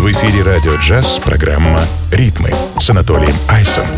В эфире «Радио Джаз» программа «Ритмы» с Анатолием Айсом.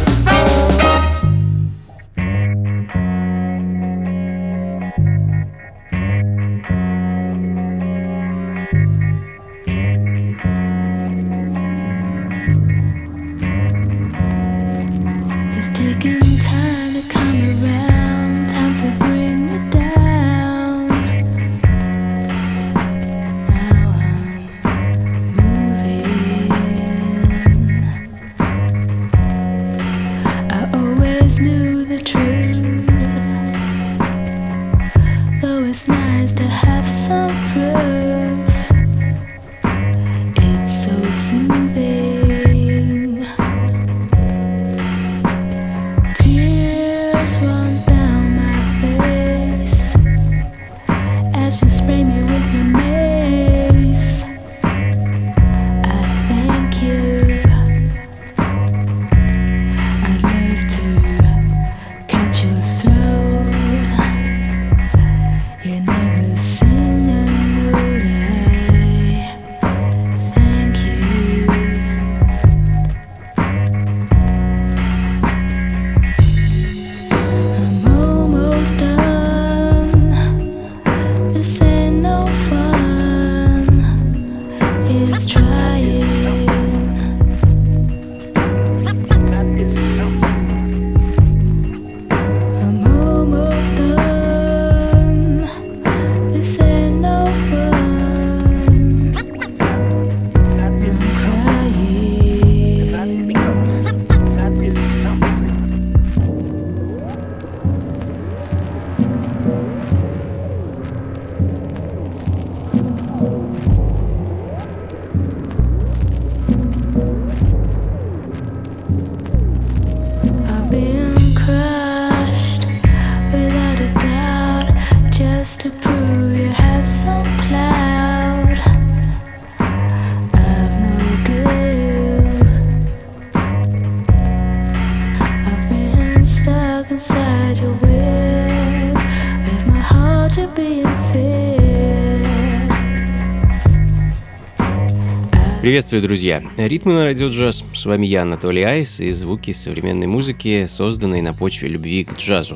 Приветствую, друзья! Ритмы на радио джаз. С вами я, Анатолий Айс, и звуки современной музыки, созданные на почве любви к джазу.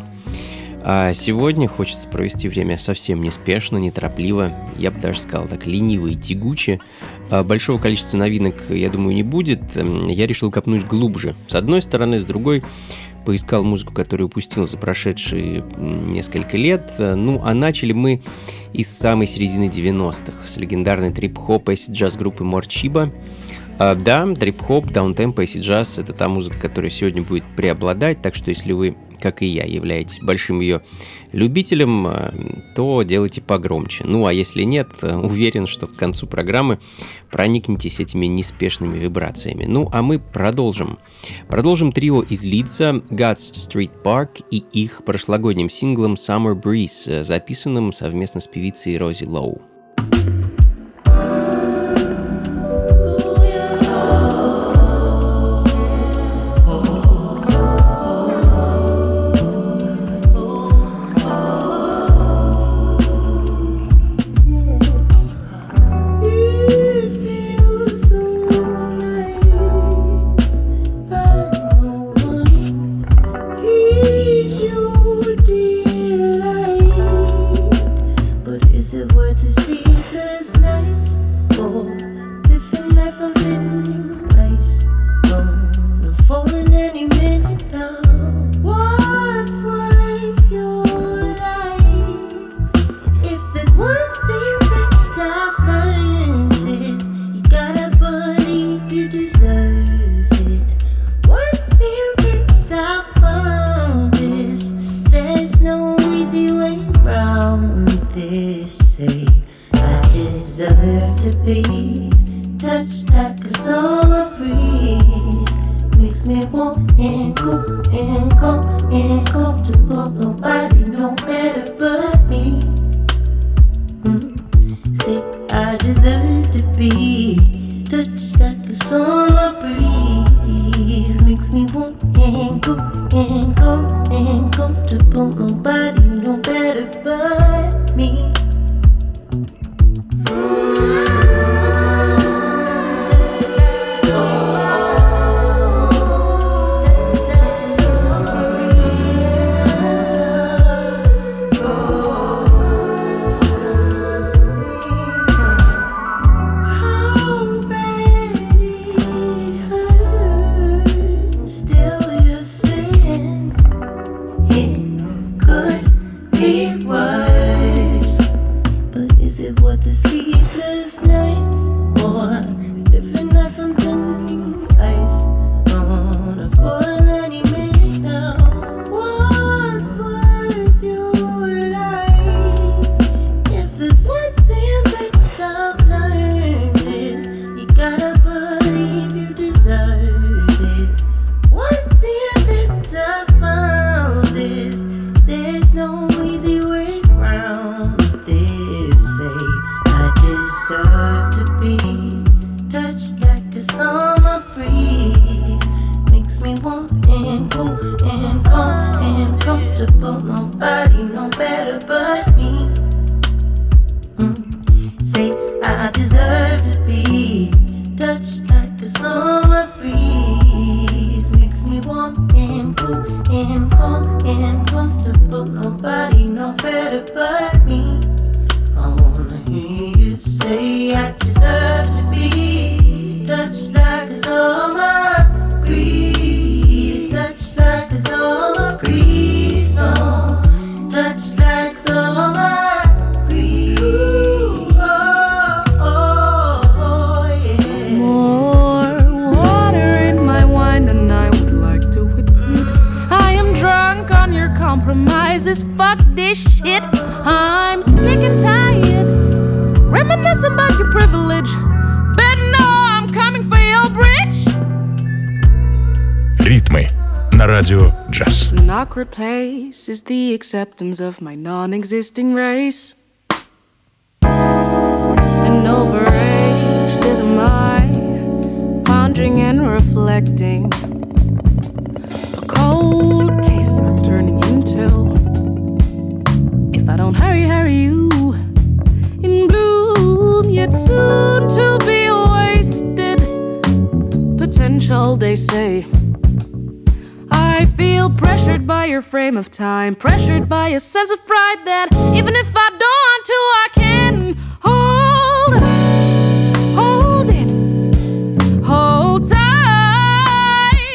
А сегодня хочется провести время совсем неспешно, неторопливо, я бы даже сказал так, лениво и тягуче. Большого количества новинок, я думаю, не будет. Я решил копнуть глубже. С одной стороны, с другой поискал музыку, которую упустил за прошедшие несколько лет. Ну, а начали мы из самой середины 90-х, с легендарной трип-хоп acid-джаз группы Morcheeba. Да, трип-хоп, даунтемпо, acid-джаз — это та музыка, которая сегодня будет преобладать, так что если вы, как и я, являетесь большим ее любителем, то делайте погромче. Ну, а если нет, уверен, что к концу программы проникнетесь этими неспешными вибрациями. Ну, а мы продолжим. Продолжим трио из Лидса, God's Street Park, и их прошлогодним синглом Summer Breeze, записанным совместно с певицей Рози Лоу. be touched like a summer breeze. Makes me warm and cool and calm and comfortable. Nobody know better but me. Say I deserve to be touched like a summer breeze. Makes me warm and cool and calm and comfortable. Nobody know better but me. I wanna hear you say I deserve to be touched like a summer breeze. Touched like a summer breeze. Oh, touched like summer breeze. Oh, oh, oh, yeah. More water in my wine than I would like to admit. I am drunk on your compromises. Fuck this shit. I'm sick and tired, reminiscing about your privilege. Better know I'm coming for your bridge. Ритмы на радио Джаз. An awkward place is the acceptance of my non-existing race. And overaged as am I, pondering and reflecting. A cold case I'm turning into. If I don't hurry you in bloom, yet soon to be wasted potential, they say. I feel pressured by your frame of time, pressured by a sense of pride that even if I don't want to, I can hold it, hold tight.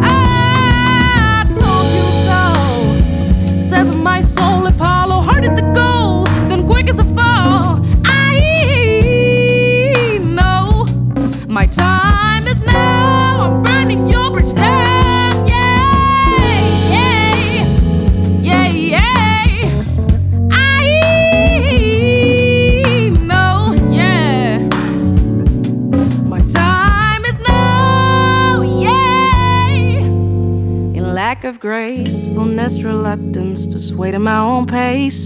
I told you so, says my soul. If hollow hearted the goal, then quick as a fall. I know my time is now. I'm burning your bridge down. Of gracefulness, reluctance to sway to my own pace.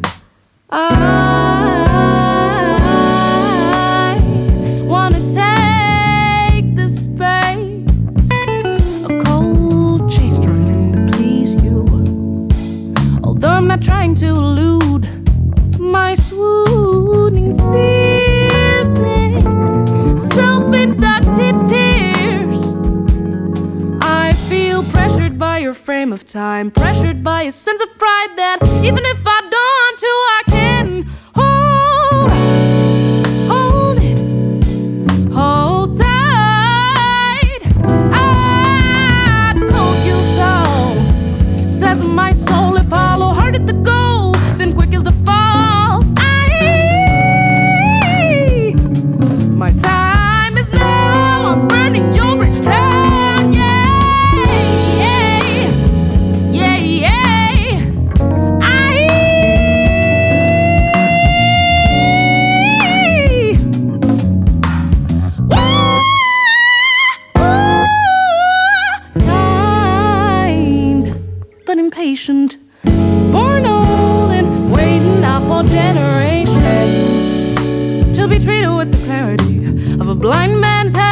I wanna take the space, a cold chase trying to please you. Although I'm not trying to elude my swooning fears and self-inducted tears. I feel pressured by your frame of time, pressured by a sense of pride that even if I don't want to, I can hold it, hold tight. I told you so, says my soul. If hollow hearted the goal, then quick as the fall. My time is now. I'm burning your bridge down. Impatient, born old and waiting out for generations to be treated with the clarity of a blind man's hand.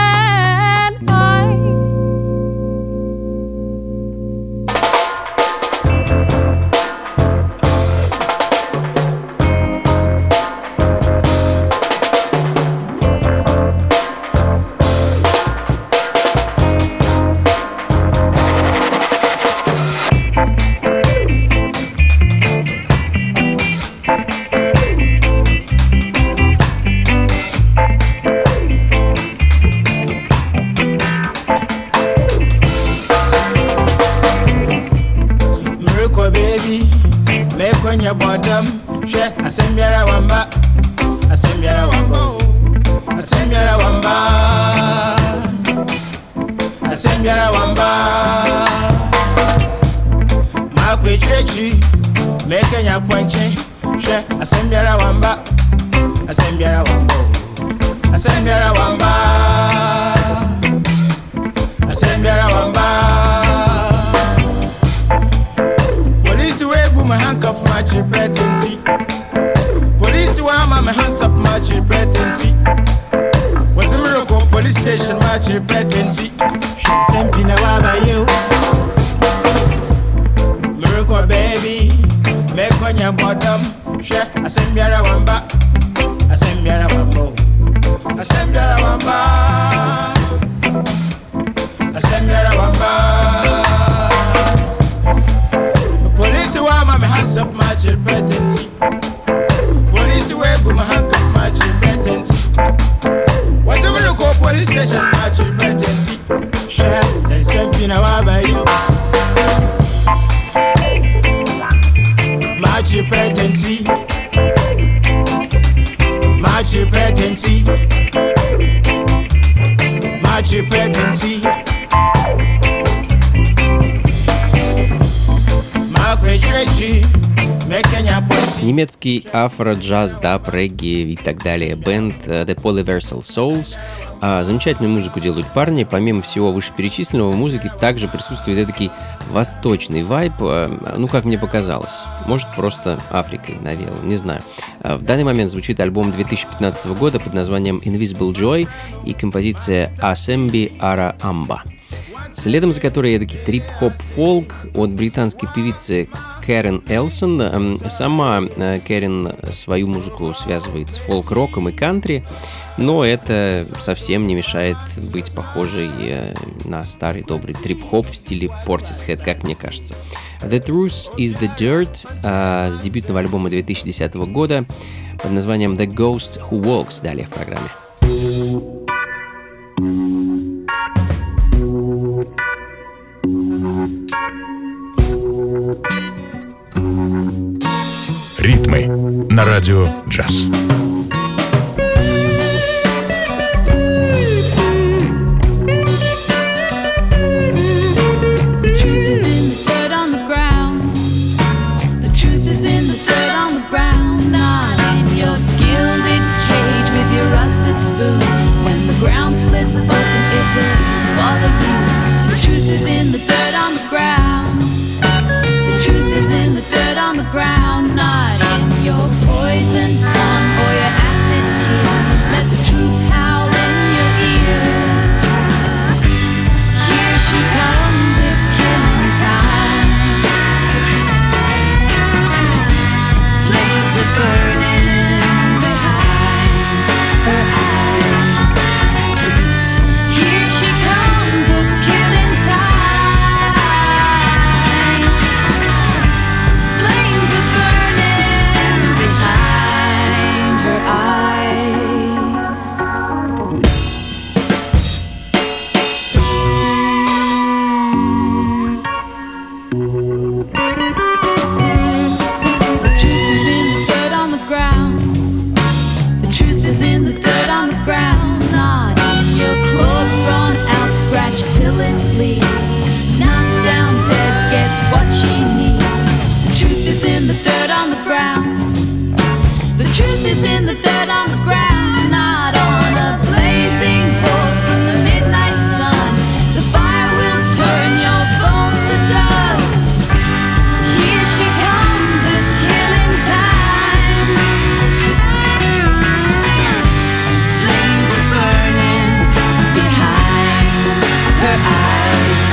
Police, why my hands up, much pretense. station, match repetency. Sempina waba you. Miracle baby, make on your bottom. Share, I send Yara Wamba. I send Yara Wambo. I send Yara Wamba. I send Yara Wamba. Police wa my hands up, match repetency. Police way go my hand off, match repetency. Whatever you go police station, match repetency. Share, then Sempina waba you. Match repetency. Match repetency. Match repetency. Немецкий афро-джаз, даб, регги и так далее бенд The Polyversal Souls. Замечательную музыку делают парни. Помимо всего вышеперечисленного, в музыке также присутствует эдакий восточный вайб, ну, как мне показалось. Может, просто Африкой навеял, не знаю. В данный момент звучит альбом 2015 года под названием Invisible Joy и композиция Асемби Ара Амба. Следом за которой эдакий трип-хоп-фолк от британской певицы Кэрен Элсон. Сама Кэрен свою музыку связывает с фолк-роком и кантри, но это совсем не мешает быть похожей на старый добрый трип-хоп в стиле Portishead, как мне кажется. The Truth is the Dirt с дебютного альбома 2010 года под названием The Ghost Who Walks далее в программе. Ритмы на радио «Джаз». Her eyes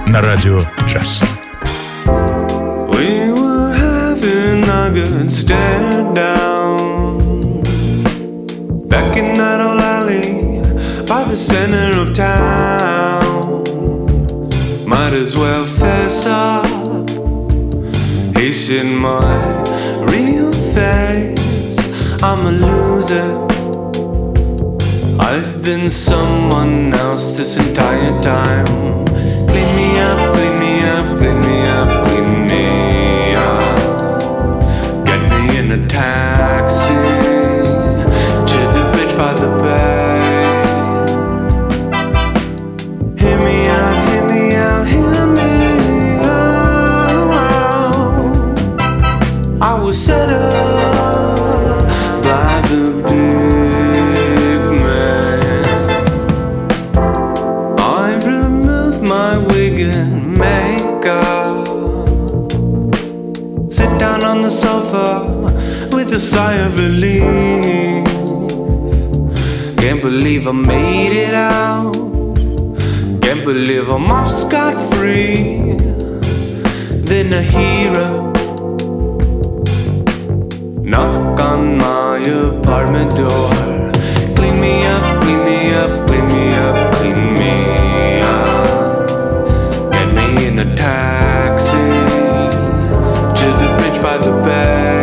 на радио «Джаз». We were having a good stare down back in that old alley by the center of town. Might as well fess up, hasten my real face. I'm a loser, I've been someone else this entire time. Clean me up, clean me up, clean me up, clean me up. Get me in a taxi to the bridge by the bay. Hear me out, hear me out, hear me out. I was set up by the big man. I've removed my wig and makeup. Sit down on the sofa with a sigh of relief. Can't believe I made it out. Can't believe I'm off scot-free. Then a hero knock on my apartment door. Clean me up, clean me up, clean me up, clean me up. Get me in a taxi to the bridge by the bay.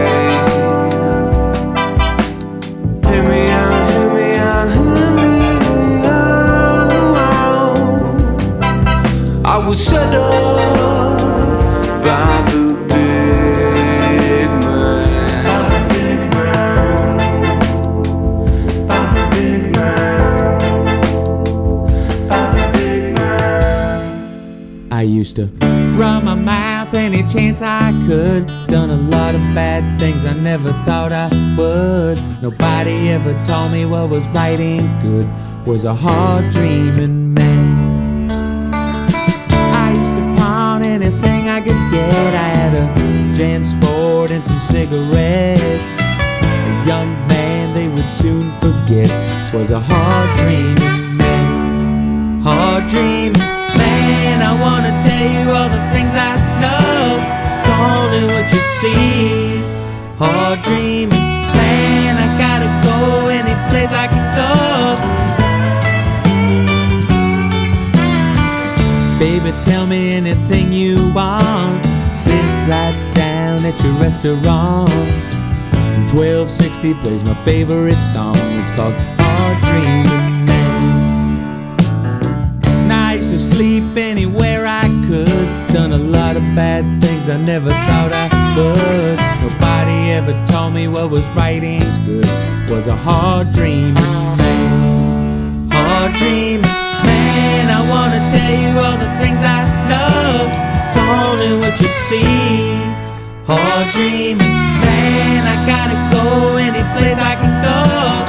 Hear me out, hear me out, hear me out. I was set up by the big man. By the big man. By the big man. I used to run my mouth any chance I could. Done a lot of bad things I never thought I would. Nobody ever told me what was right and good. Was a hard dreaming man. I used to pawn anything I could get. I had a Jan Sport and some cigarettes. A young man they would soon forget. Was a hard dreaming man. Hard dreaming man, I wanna tell you all the things I know. Told you what you see. Hard dreaming man, I gotta go any place I can go. Baby, tell me anything you want. Sit right down at your restaurant. 1260 plays my favorite song. It's called Hard Dreaming Man. I used to sleep anywhere I could. Done a lot of bad things I never thought I would. Nobody ever told me what was right and good. Was a hard dreaming man. Hard dreaming man, I wanna tell you all the things I know. Told you what you see. Hard dreaming man, I gotta go any place I can go.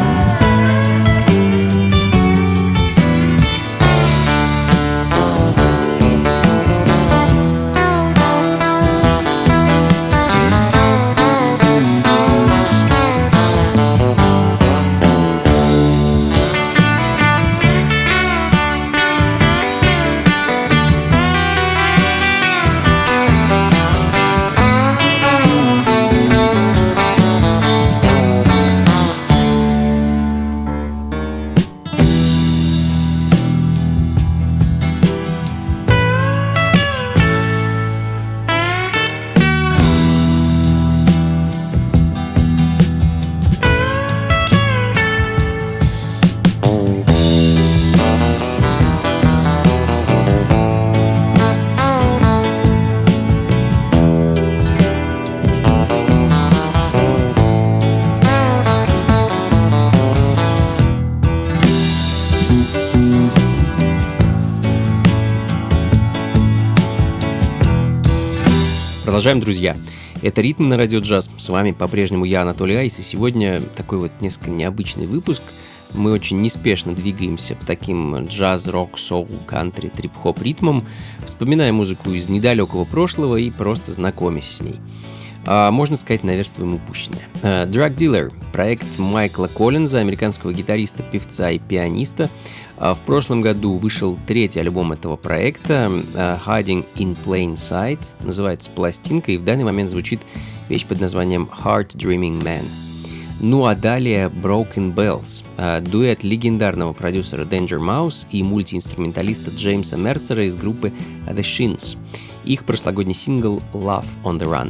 Продолжаем, друзья. Это «Ритм» на радио «Джаз». С вами по-прежнему я, Анатолий Айс. И сегодня такой вот несколько необычный выпуск. Мы очень неспешно двигаемся по таким джаз, рок, соул, кантри, трип-хоп ритмам, вспоминая музыку из недалекого прошлого и просто знакомясь с ней. Можно сказать, наверстываем упущенное. Drug Dealer — проект Майкла Коллинза, американского гитариста, певца и пианиста. В прошлом году вышел третий альбом этого проекта, Hiding in Plain Sight, называется пластинка, и в данный момент звучит вещь под названием Heart Dreaming Man. Ну а далее Broken Bells, дуэт легендарного продюсера Danger Mouse и мультиинструменталиста Джеймса Мерцера из группы The Shins. Их прошлогодний сингл Love on the Run.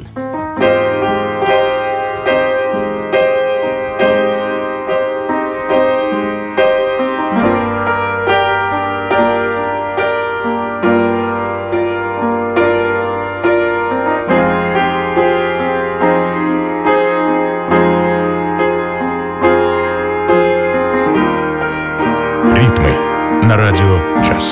На радио «Джаз».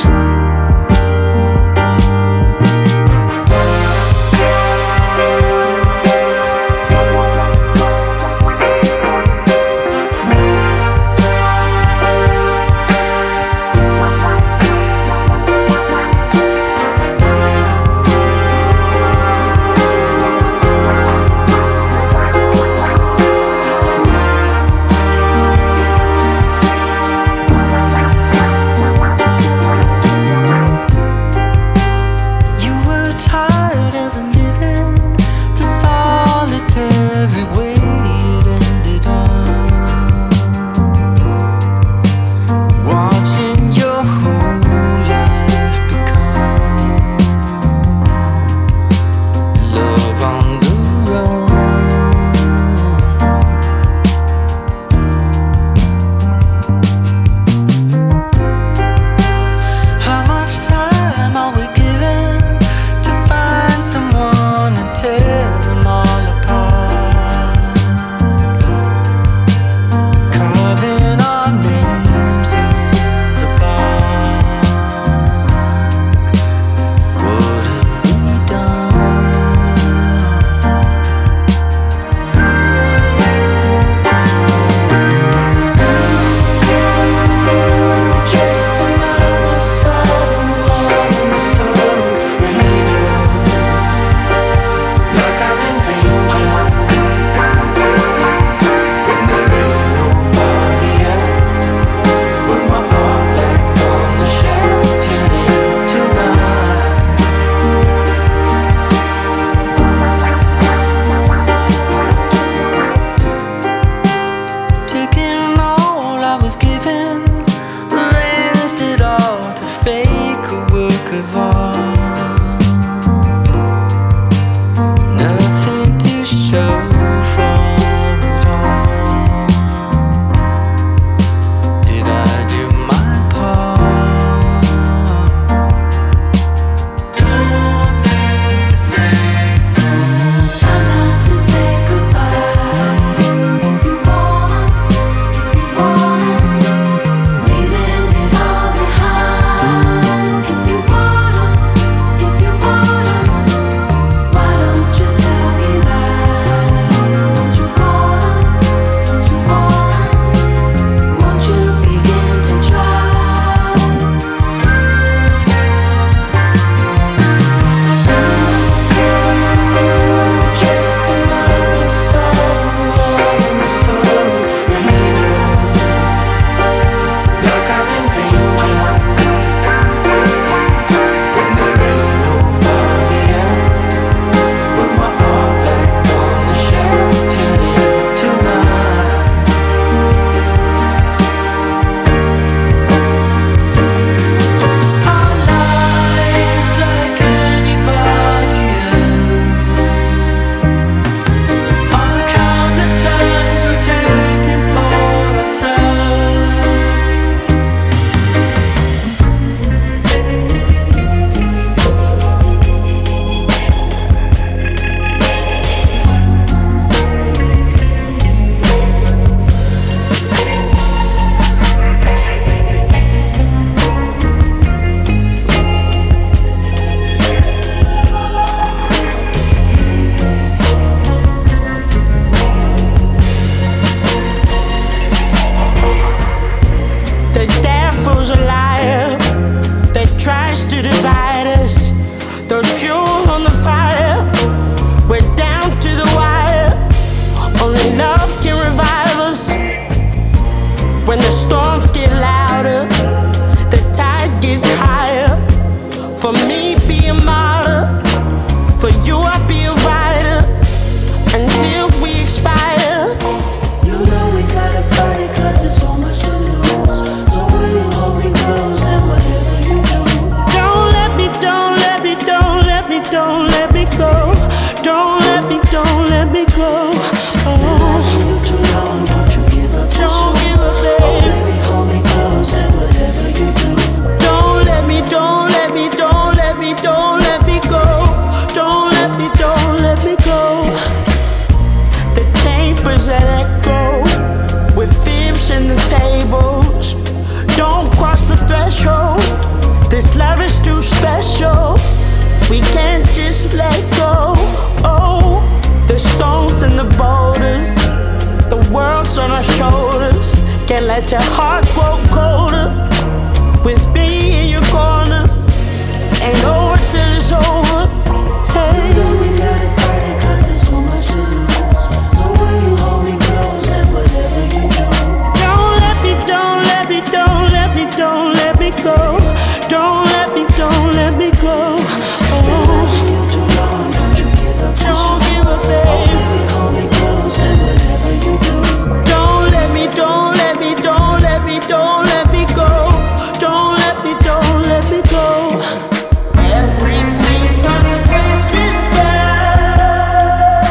is higher. For me, be a martyr. For you, I'll be a rider until we expire. You know we gotta fight it 'cause there's so much to lose. So will you hold me close and whatever you do? Don't let me, don't let me, don't let me, don't let me go. Don't let me, don't let me go. Been loving you too long, don't you give up too soon. Don't give up, babe. Oh baby, hold me close and whatever you do. Don't let me, don't let me, don't let me, don't let me go. Don't let me, don't let me go. The chambers that echo with fibs and the fables. Don't cross the threshold. This love is too special. We can't just let go. Oh, the stones and the boulders, the world's on our shoulders. Can't let your heart grow colder. With me in your corner, ain't over till it's over. Hey, you know we gotta fight it 'cause there's so much to lose. So will you hold me close and whatever you do? don't let me, don't let me, don't let me, don't let me go. Don't let me, don't let me go. Been loving you too long, don't you give up too Don't soon. give up, Oh babe. baby, hold me close and whatever you do. Don't let me, don't let me, don't let me, don't let me go. Don't let me, don't let me go. Everything comes crashing down.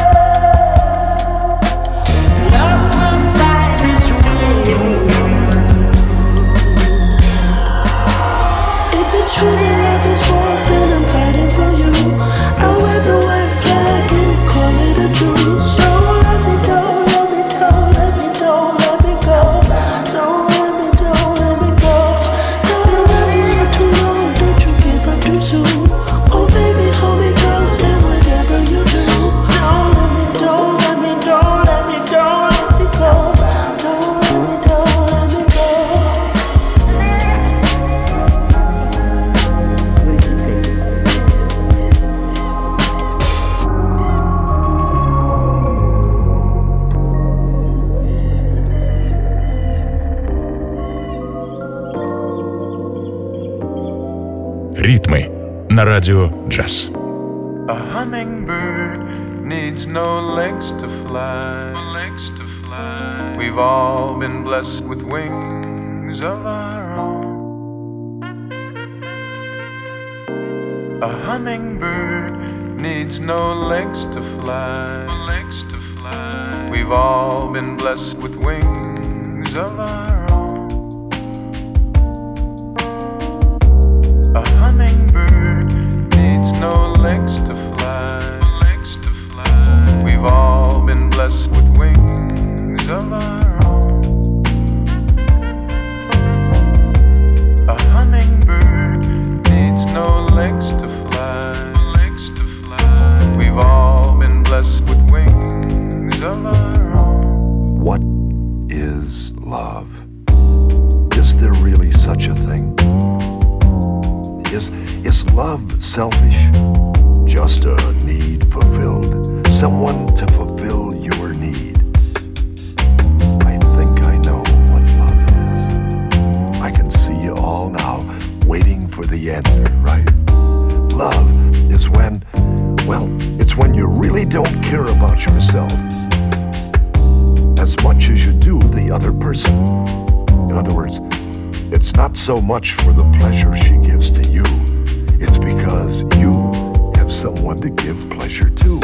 Love will find its way. If it's true that love is war, then I'm fighting for you. I'll wear the white flag and call it a truce. Don't let me, don't let me, don't let me, don't let me go. Don't let me, don't let me go. Don't love you too long, don't you give up too soon. Oh baby, hold me close and whatever you do. Don't let me, don't let me, don't let me, don't let me go. Don't let me, don't let me go. Ритмы на радио джаз. A hummingbird needs no legs to fly. Legs to fly. We've all been blessed with wings of our own. A hummingbird needs no legs to fly. Legs to fly. We've all been blessed with wings of our own. A hummingbird needs no legs to fly. Legs to fly. We've all been blessed with wings of our own. A hummingbird needs no legs to fly. Legs to fly. We've all been blessed with wings of our own. What is love? Is there really such a thing? Is love selfish? Just a need fulfilled? Someone to fulfill your need? I think I know what love is. I can see you all now, waiting for the answer, right? Love is when, well, it's when you really don't care about yourself as much as you do the other person. In other words, it's not so much for the pleasure she gives to you, it's because you have someone to give pleasure to.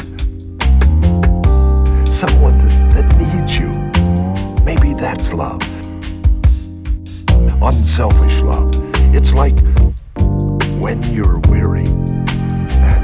Someone that needs you. Maybe that's love. Unselfish love. It's like when you're weary and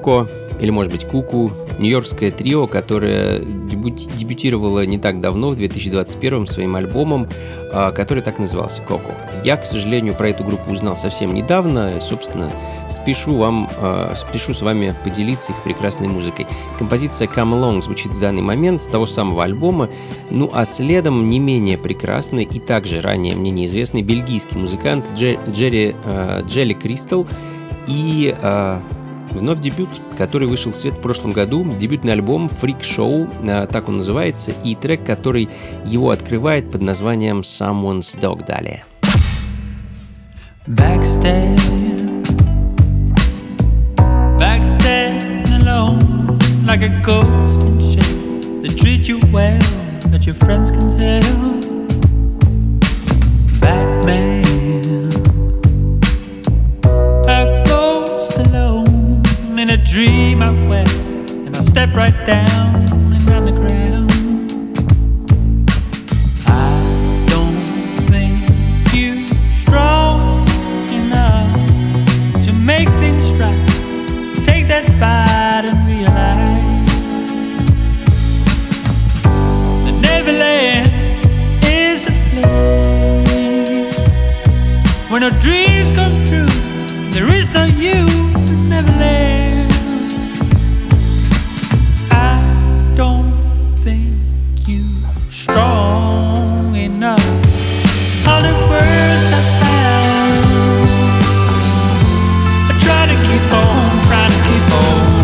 Коко, или, может быть, Куку, нью-йоркское трио, которое дебютировало не так давно, в 2021 своим альбомом, который так и назывался «Коко». Я, к сожалению, про эту группу узнал совсем недавно, и, собственно, спешу с вами поделиться их прекрасной музыкой. Композиция «Come Along» звучит в данный момент с того самого альбома, ну а следом не менее прекрасный и также ранее мне неизвестный бельгийский музыкант Джелли Кристал и... вновь дебют, который вышел в свет в прошлом году. Дебютный альбом Freak Show, так он называется, и трек, который его открывает под названием Someone's Dog. Далее. Backstab alone, like a ghost in shape. They treat you well, but your friends can tell. Batman, a ghost alone in a dream I wear, and I step right down and on the ground. I don't think you strong enough to make things right. Take that fight and realize that Neverland is a place where no dreams come true. There is no you in Neverland. I don't think you strong enough. All the words I found, I try to keep on, trying to keep on.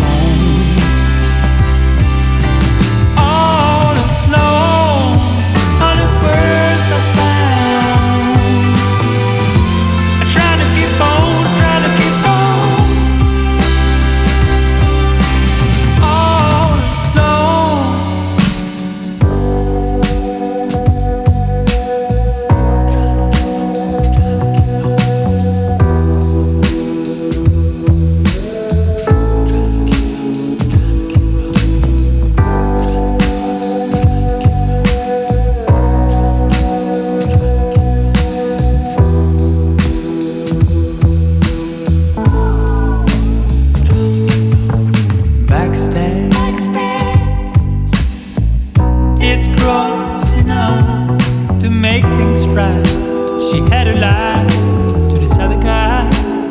All alone, all the words I found, I try to keep on, trying to keep on. All alone. Backstage, it's gross enough to make things right. She had to lie to this other guy.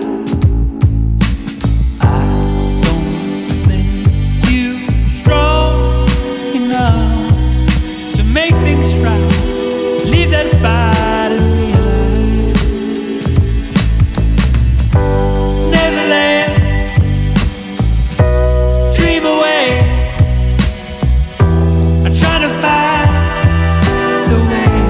I don't think you strong enough to make things right. Leave that fight and realize Neverland. Dream away. I'm trying to find the way.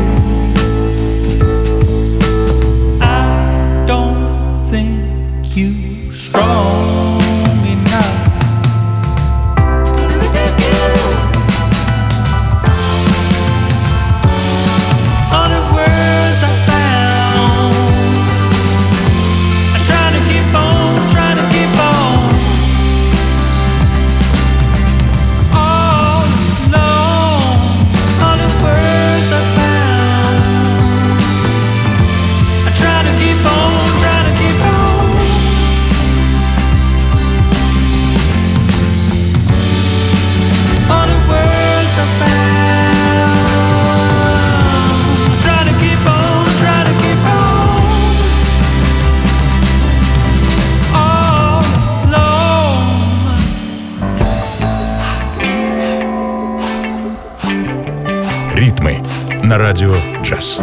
I don't think you strong enough. All the words I found, I try to keep on, trying to keep on. All alone, all the words I found, I try to keep on, try to keep on. All the words I found, try to keep on, try to keep on. All alone. Ритмы на радио «Джаз».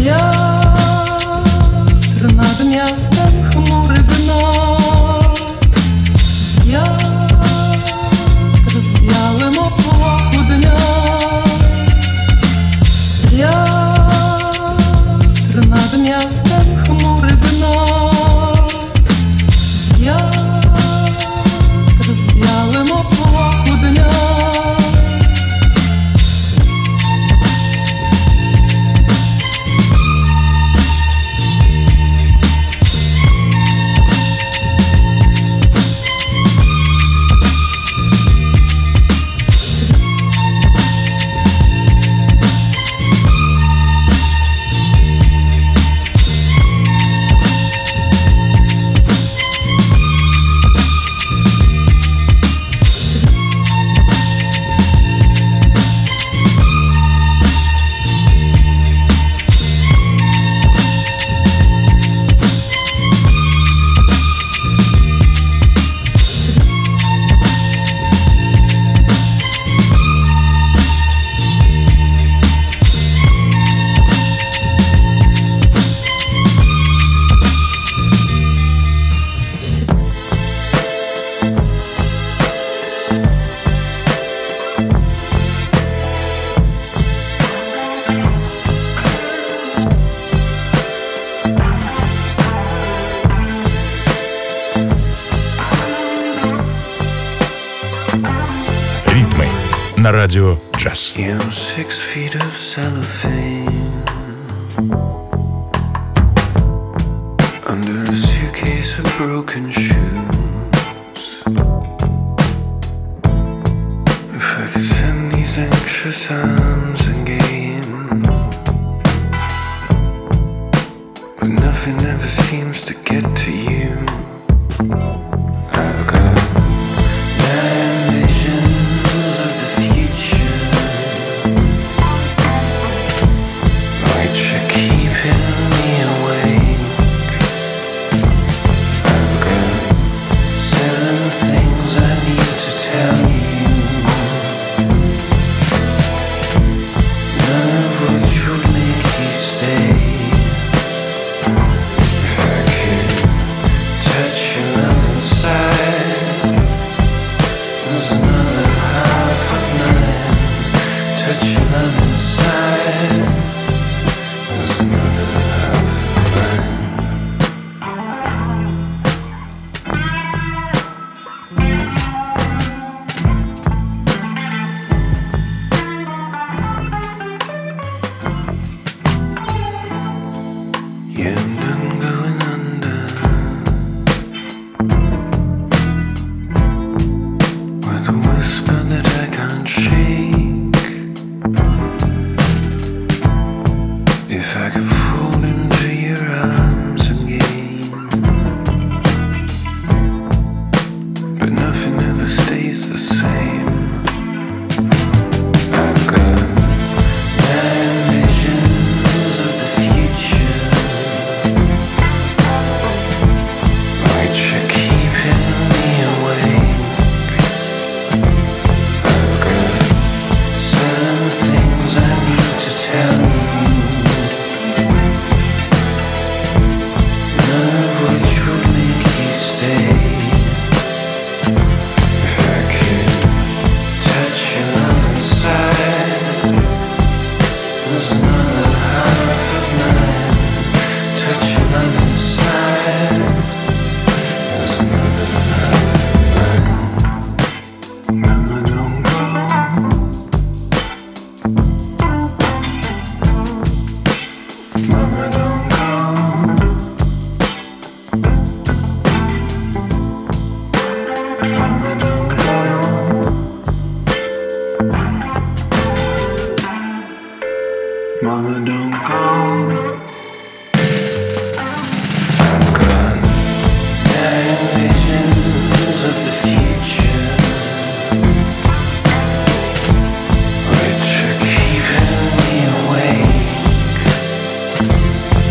Wiatr nad miastem chmury gną. Wiatr w białym obłoku dnia. Wiatr nad miastem chmury gną. Wiatr w białym obłoku dnia. На радио «Джаз». 6 feet of cellophane under a suitcase of broken shoes. If I could send these anxious arms again, but nothing ever seems to get to you. I've got visions of the future, which are keeping me awake. I've got 7 things I need to tell you, none of which would make you stay. If I could touch your love inside, there's another half of mine. Touch your love inside, there's another half of mine. Yeah, I'm done going under. With a whisper that I can't shake. If I could fall into your arms again, but nothing ever stays the same. I've got 9 visions of the future, which are keeping me awake. I've got 7 things I need to tell you, none of which would make you stay. If I could touch your love inside, there's another half of mine. Touch your love inside, there's another half of mine. Mama, don't go. Mama, don't go. Mama, don't go. Mama, don't go. I've got 9 visions of the future, which are keeping me awake.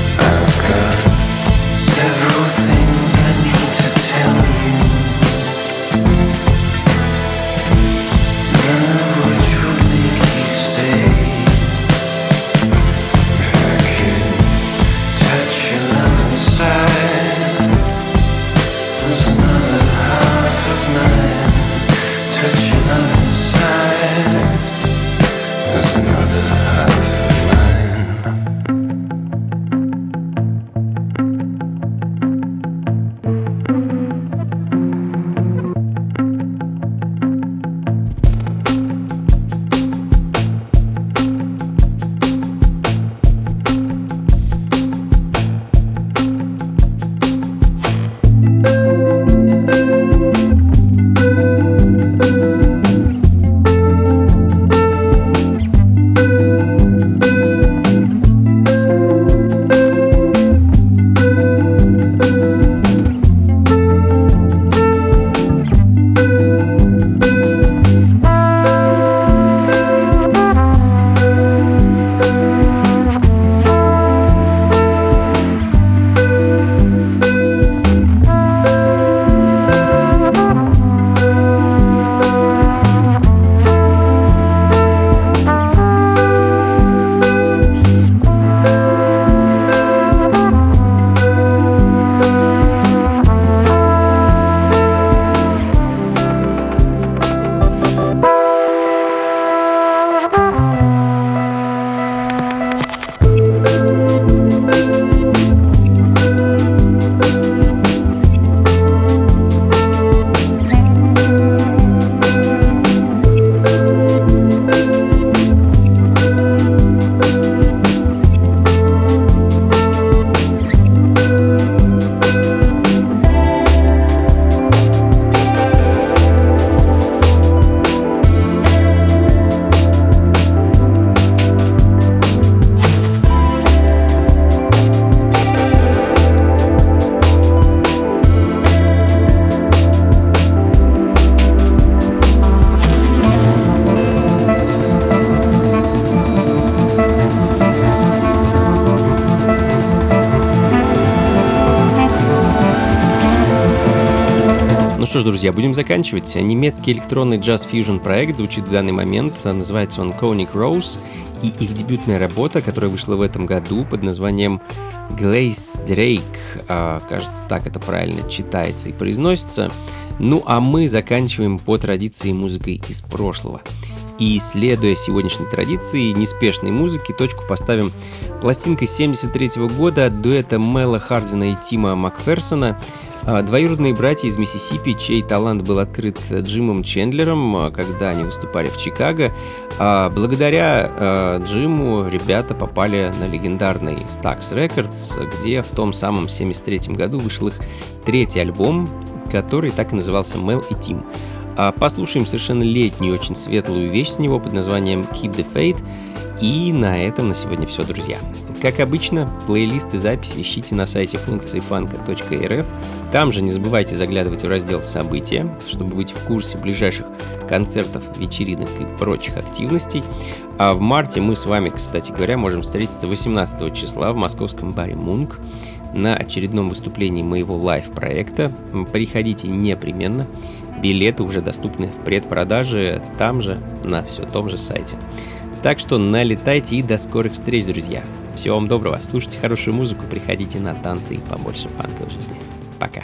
что ж, друзья, будем заканчивать. Немецкий электронный джаз-фьюжн проект звучит в данный момент. Называется он Conic Rose. И их дебютная работа, которая вышла в этом году под названием Glaze Drake. Кажется, так это правильно читается и произносится. Ну а мы заканчиваем по традиции музыкой из прошлого. И, следуя сегодняшней традиции неспешной музыки, точку поставим пластинкой 1973 года от дуэта Мела Хардина и Тима Макферсона. Двоюродные братья из Миссисипи, чей талант был открыт Джимом Чендлером, когда они выступали в Чикаго. Благодаря Джиму ребята попали на легендарный Stax Records, где в том самом 1973 году вышел их третий альбом, который так и назывался «Мел и Тим». Послушаем совершенно летнюю, очень светлую вещь с него под названием «Keep the Faith». И на этом на сегодня все, друзья. Как обычно, плейлисты записи ищите на сайте функции funko.rf. Там же не забывайте заглядывать в раздел «События», чтобы быть в курсе ближайших концертов, вечеринок и прочих активностей. А в марте мы с вами, кстати говоря, можем встретиться 18 числа в московском баре «Мунк» на очередном выступлении моего лайв-проекта. Приходите непременно. Билеты уже доступны в предпродаже там же, на все том же сайте. Так что налетайте и до скорых встреч, друзья. Всего вам доброго, слушайте хорошую музыку, приходите на танцы и побольше фанка в жизни. Пока.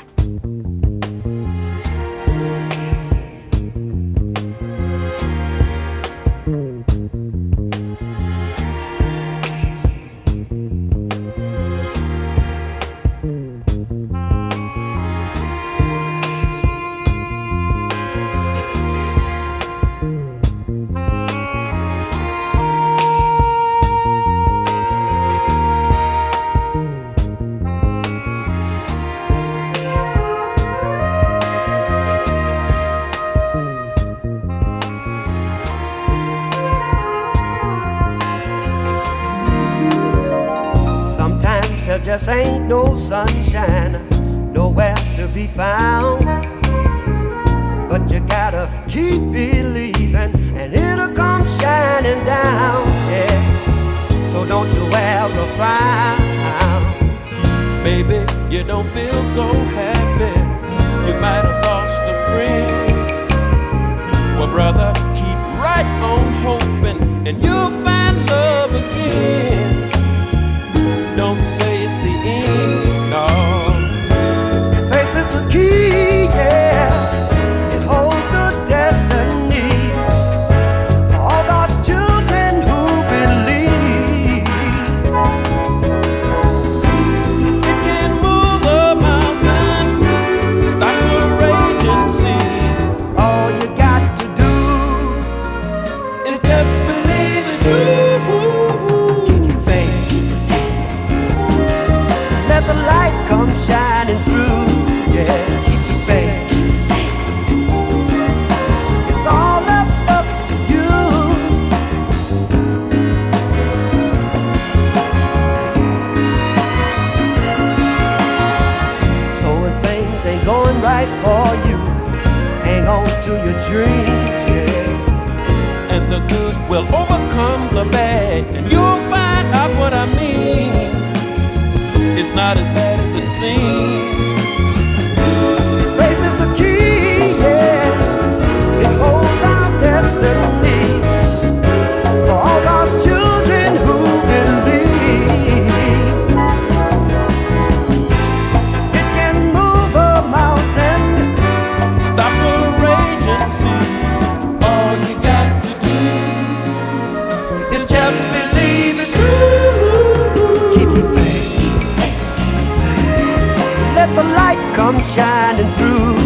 Just ain't no sunshine nowhere to be found, but you gotta keep believing and it'll come shining down, yeah. So don't you ever frown. Baby, you don't feel so happy, you might have lost a friend. Well, brother, keep right on hoping and you'll find love again. Don't say it's the end, no. Faith is the key, yeah. It holds the destiny for all God's children who believe. It can move a mountain, stop a raging sea. All you got to do is just believe it's true. The light comes shining through, yeah, keep your faith. It's all left up to you. So when things ain't going right for you, hang on to your dreams, yeah. And the good will overcome the bad, and you'll find out what I mean. It's not as bad as it seems. Faith is the key, yeah. It holds our destiny for all God's children who believe. It can move a mountain, stop a raging sea. All you got to do is just believe it's true. Keep your faith. Let the light come shining through.